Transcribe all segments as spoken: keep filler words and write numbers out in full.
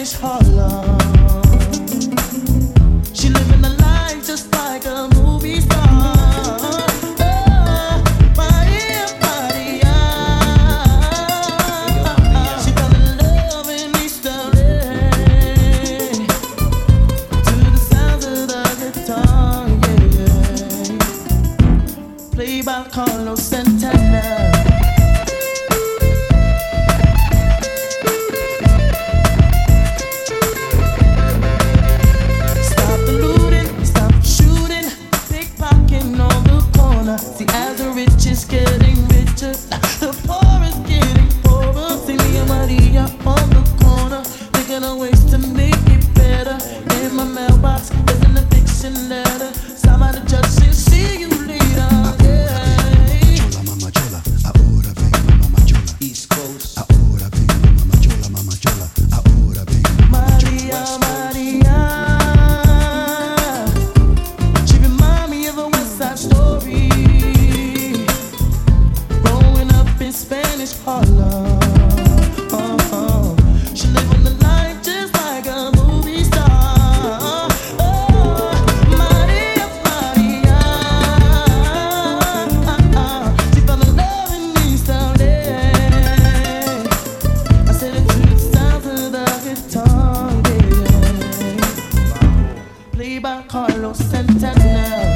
Spanish Harlem. She living a life just like a movie star. Oh, Maria, Maria. She fell in love in East L A to the sounds of the guitar, yeah. Played by Carlos Santana. See, as the rich is getting richer, the poor is getting poorer. See me and Maria on the corner, thinking of ways to make it better. In my mailbox is an eviction letter. Somebody judge says, see you later. Yeah. Chola, mama chola, ahora vengo, mama chola. East Coast. Ahora vengo, mama chola, mama chola. Ahora vengo, mama chola. Maria, Maria. She remind me of a West Side Story. Spanish Harlem. Oh, oh. She living the life just like a movie star. Oh, Maria, Maria. She fell in love in East L A. I said it to the sounds of the guitar, yeah. Played by Carlos Santana.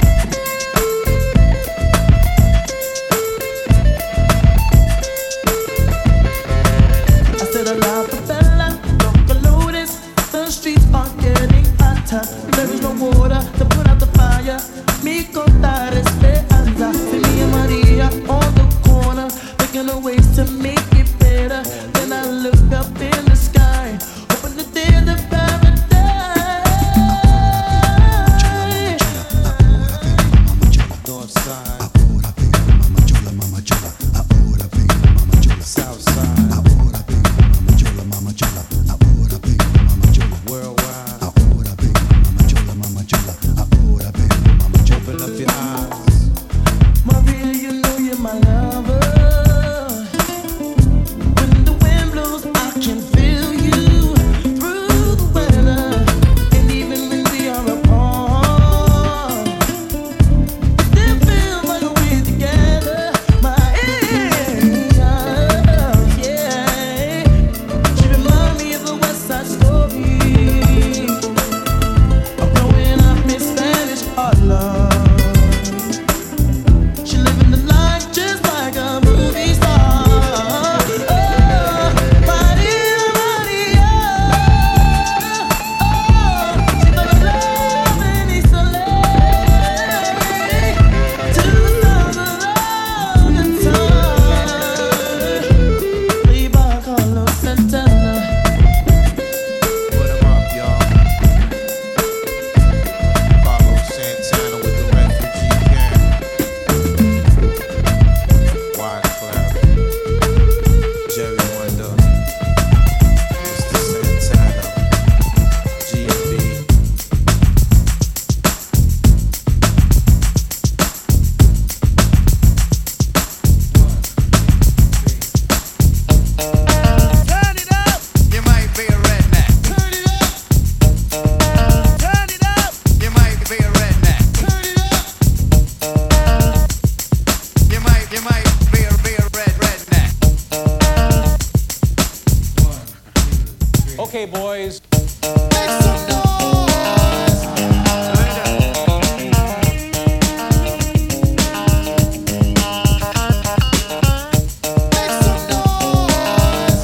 There is no water to put out the fire. Mi contar esperanza. See me and Maria on the corner, thinking of ways to make it better. Then I look up in the sky, hoping that there's a paradise. North side. Ahora vengo, mama chola, mama chola. Ahora vengo, mama chola. South side. Ahora vengo, mama chola, mama chola. Ahora vengo, mama chola. Worldwide. Ahora vengo, mama chola, mama chola. Ahora vengo, mama chola. Open up your eyes, Maria. You know you're my lover. When the wind blows, I can feel you through the weather, and even when we are apart, it still feels like we're together. Maria, yeah. She remind me of a West Side Story. I'm growing up in Spanish Harlem. She living the life just like a movie star. Oh, Maria, Maria. Oh, she fell in love in East L A to the sounds of the guitar. Played by Carlos Santana. Put 'em up, y'all. Carlos Santana with the refugee camp. Wyclef, Jerry Wonder, Mister Santana, G and B. Turn it up, You might be a redneck. Turn it up, turn it up. You might be a redneck. turn it up. You might, you might be a, be a red redneck. Okay, boys. Make some noise. Make some noise.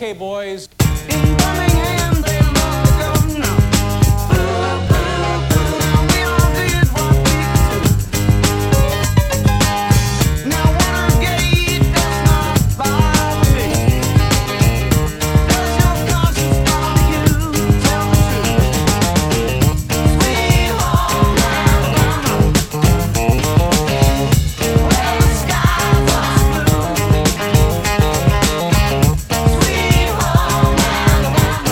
Okay, boys. In Birmingham, they love the governor. Boo, boo, boo, we all did what we could do. Now Watergate does not bother me. Does your conscience bother you? Tell the truth. Sweet home Alabama, where the skies are blue. Sweet home Alabama.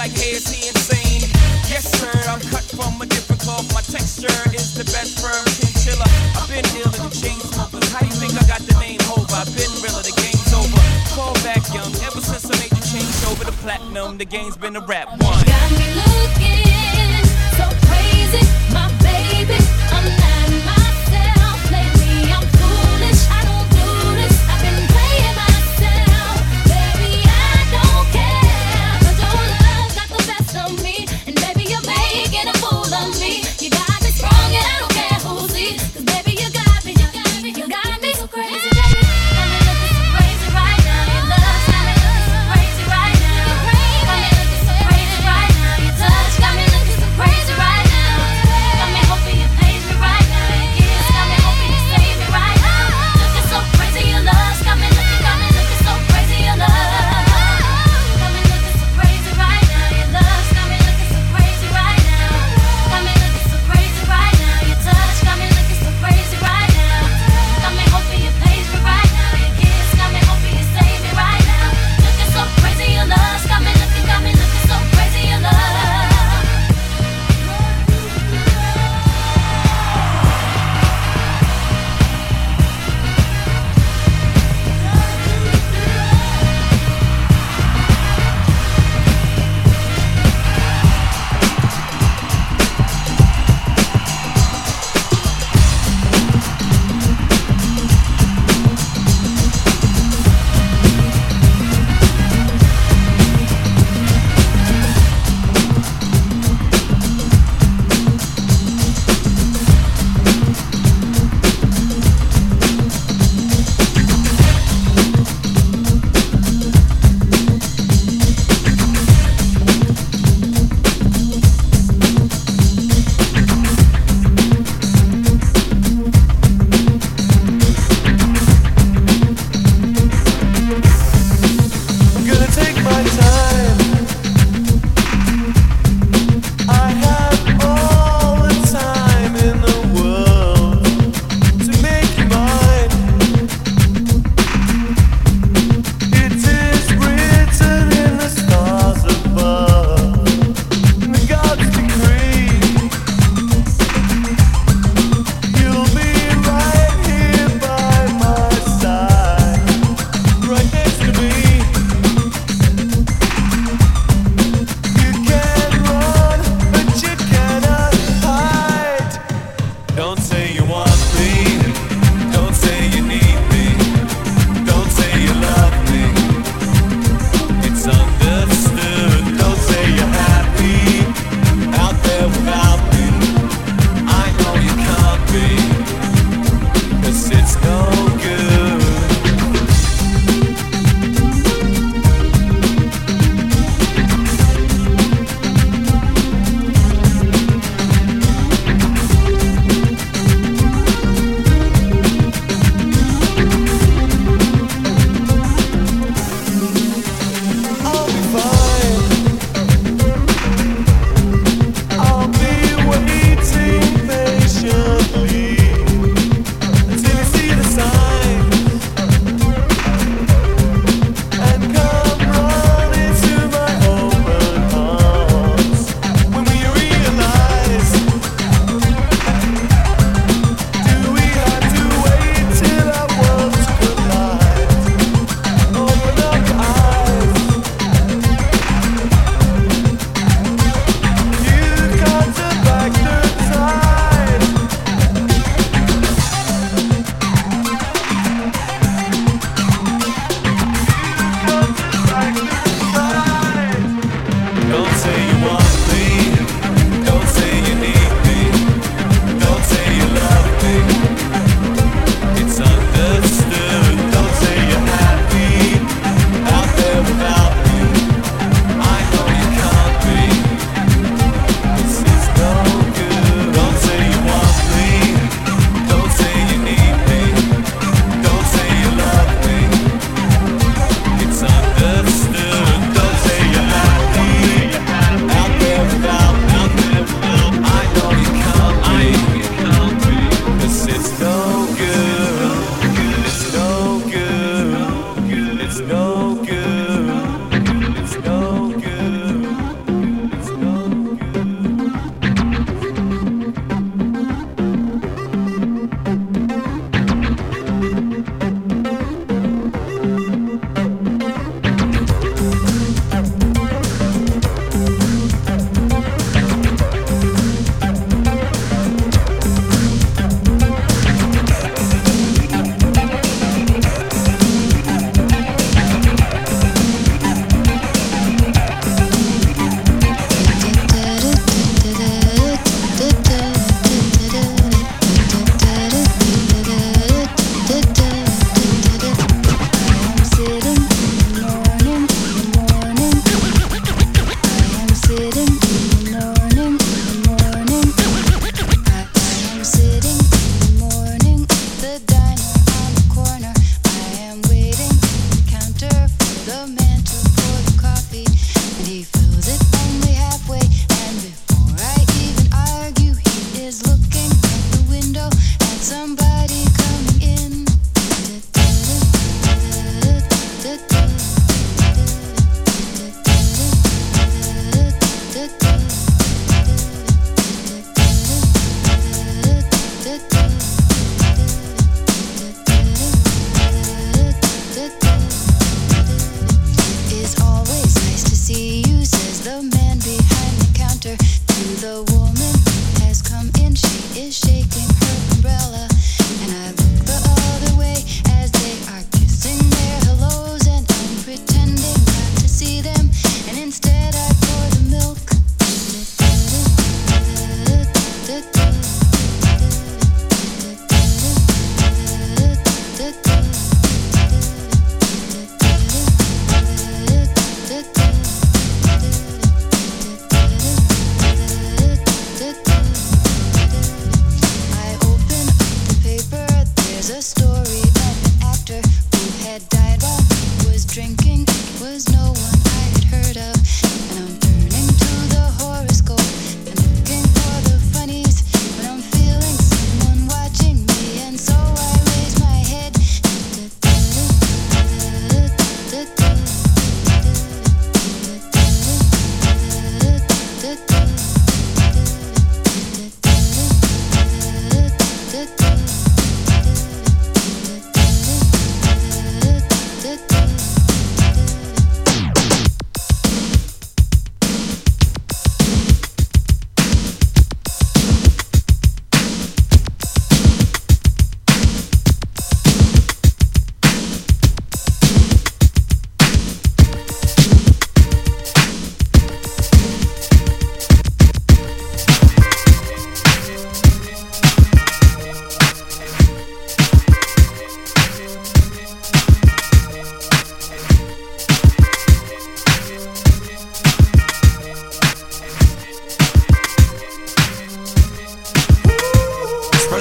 like, hey, is he insane? Yes, sir, I'm cut from a different cloth. My texture is the best firm chinchilla. I've been dealing with chain smokers. How you think I got the name Hova? I've been realer, the game's over. Fall back young, ever since I made the change over to platinum, the game's been a rap one. Got me looking so crazy, my baby. I'm not myself lately. I'm foolish. I don't do this. I've been playing myself, baby. I don't care. 'Cause your love got the best of me, and baby, you're making a fool of me. You got me strong, and I don't care who sees. 'Cause baby, you got me, you got me, you got me so crazy, baby. Got me looking so crazy right now. Your love's got me looking so crazy right now. Got me looking so crazy right now. Your love.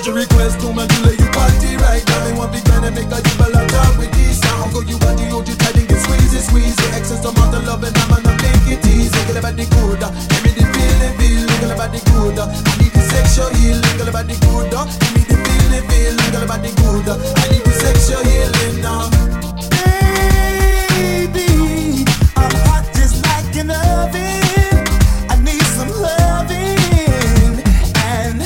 your request to my Julie, you party right now. Me want big man and make a you ball talk with this. Now go you got the hold you tight and get squeezy, squeezy. Excess amount of love and I'm gonna make it easy. Girl about the good, give me the feeling, feeling. Girl about the good, I need the sexual healing. Girl about the good, give me the feeling, feeling. Girl about the good, I need the sexual healing now. Baby, I'm hot just like an oven. I need some loving. And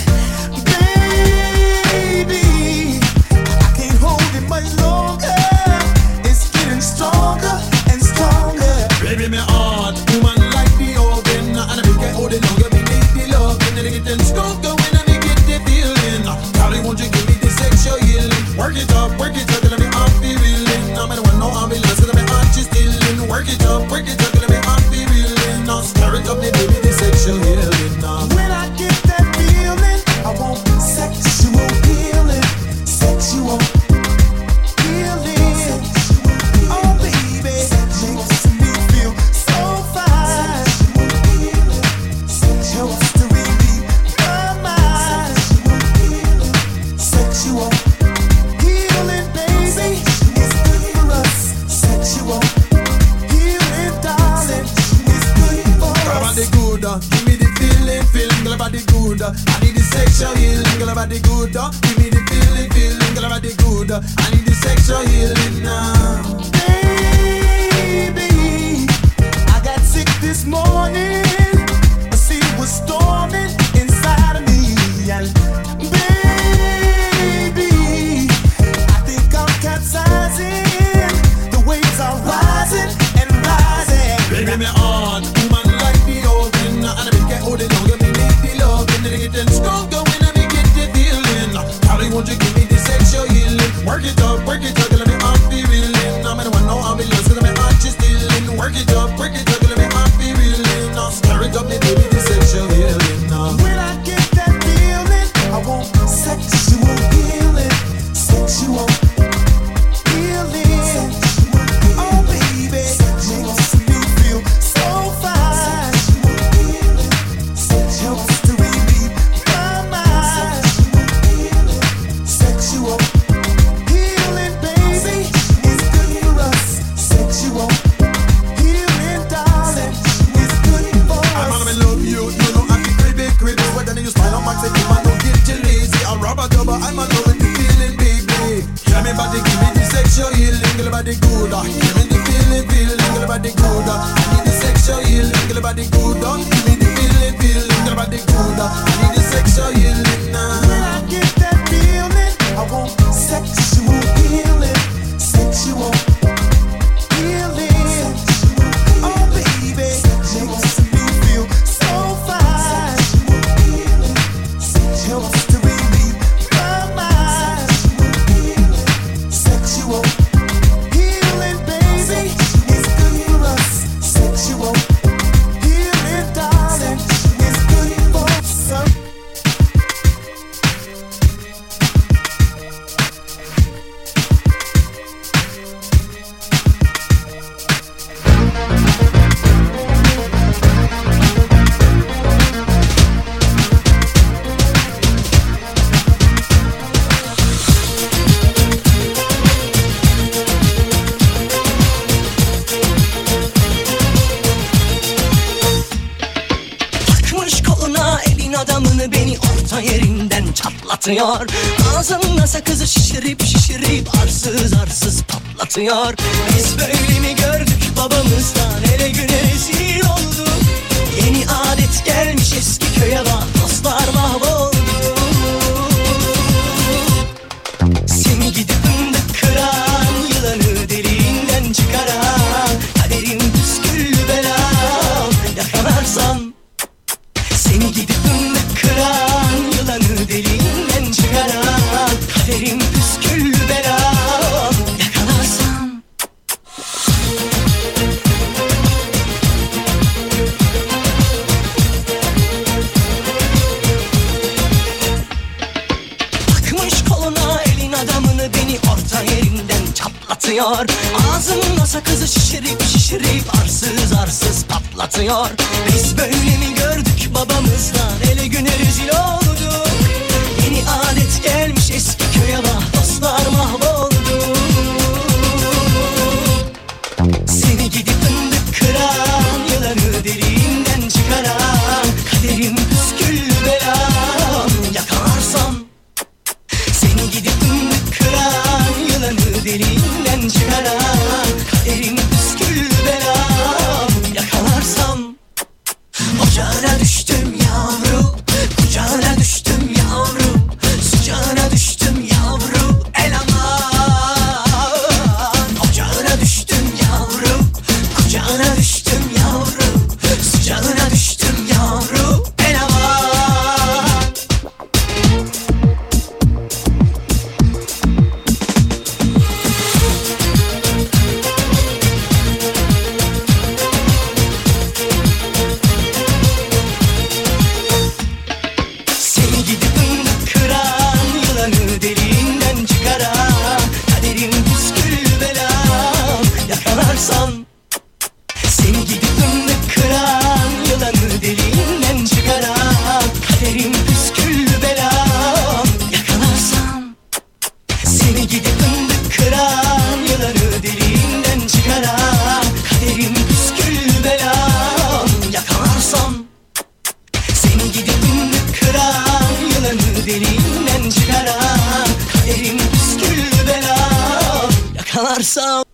baby, I can't hold it much longer. It's getting stronger and stronger. Baby, me heart, woman like the oven. And I make it hold it longer, me need the love. And then it getting stronger when I get the feeling. Darling, won't you give me the sexual healing? Work it up, work it up, let me off the reeling. I'm the one, no ambulance, let me heart just stealing. Work it up, work it up, let me off the reeling. Now stir it up, me baby, the sexual healing now. When I get that feeling, I want sexual healing. Sexual healing. Oh baby, makes me feel so fine. Helps to relieve my mind. Sexual healing, baby, is good for us. Sexual healing, darling, is good for Girl about us. the good, uh, give me the feeling, feeling. Girl about the good, uh, I need the sexual healing. Girl about the good, uh, give me the feeling, feeling. Girl about the good, uh, I need the sexual healing now. Baby, I got sick this morning. A sea was storming inside of me. And baby, I think I'm capsizing. The waves are rising and rising. Baby, me heart, woman like the oven. And I make it hold it longer, me need the love. And then it getting stronger when I get the feeling. Darling, won't you give me the sexual healing? Work it up, work it up, let me off the reeling. I'm the one, no ambulance, let me heart just stealing. Work it up, work it up, let me off the reeling. Now stir it up, me baby, the sexual healing now. When I get that feeling, I want sexual healing. Sexual healing. Oh baby, makes me feel so fine. Helps to relieve my mind. Sexual healing, baby, is good for us. Sexual healing, darling, is good for I'm us. gonna love you, you know I can crave it, crave it. Whether you smile on my say, you man, don't get you lazy. I'm rubber double, I'm a loving the feeling, baby. Tell me about the, give me the sexual healing, girl about the good. uh. Give me the feeling, feeling, girl about the good. uh. I need the sexual healing, girl about the good. uh. Give me the feeling, feeling, girl about the good. uh. I need the sexual healing now. When I get that feeling, I want sexual healing. Sexual healing. Oh baby, makes me feel so fine. Helps to relieve my mind. Sexual healing, baby, is good for us. Sexual healing, darling, is good for us. Takmış koluna elin adamını beni orta yerinden çatlatıyor. Ağzında sakızı şişirip şişirip arsız arsız patlatıyor. Biz böyle mi gördük babamızdan, ele güne rezil olduk. Yeni adet gelmiş eski köye bak, dostlar mahvoldu. Seni gidip fındık kıran, yılanı deliğinden çıkaran, kaderim püsküllü belam yakalarsan. Seni gidip fındık kıran, yılanı deliğinden çıkaran, kaderim püsküllü belam yakalarsan. Takmış koluna elin adamını beni orta yerinden çatlatıyor. Ağzında sakızı şişirip şişirip arsız arsız patlatıyor. Biz böyle mi gördük babamızdan, ele güne rezil olduk. Yeni adet gel varsa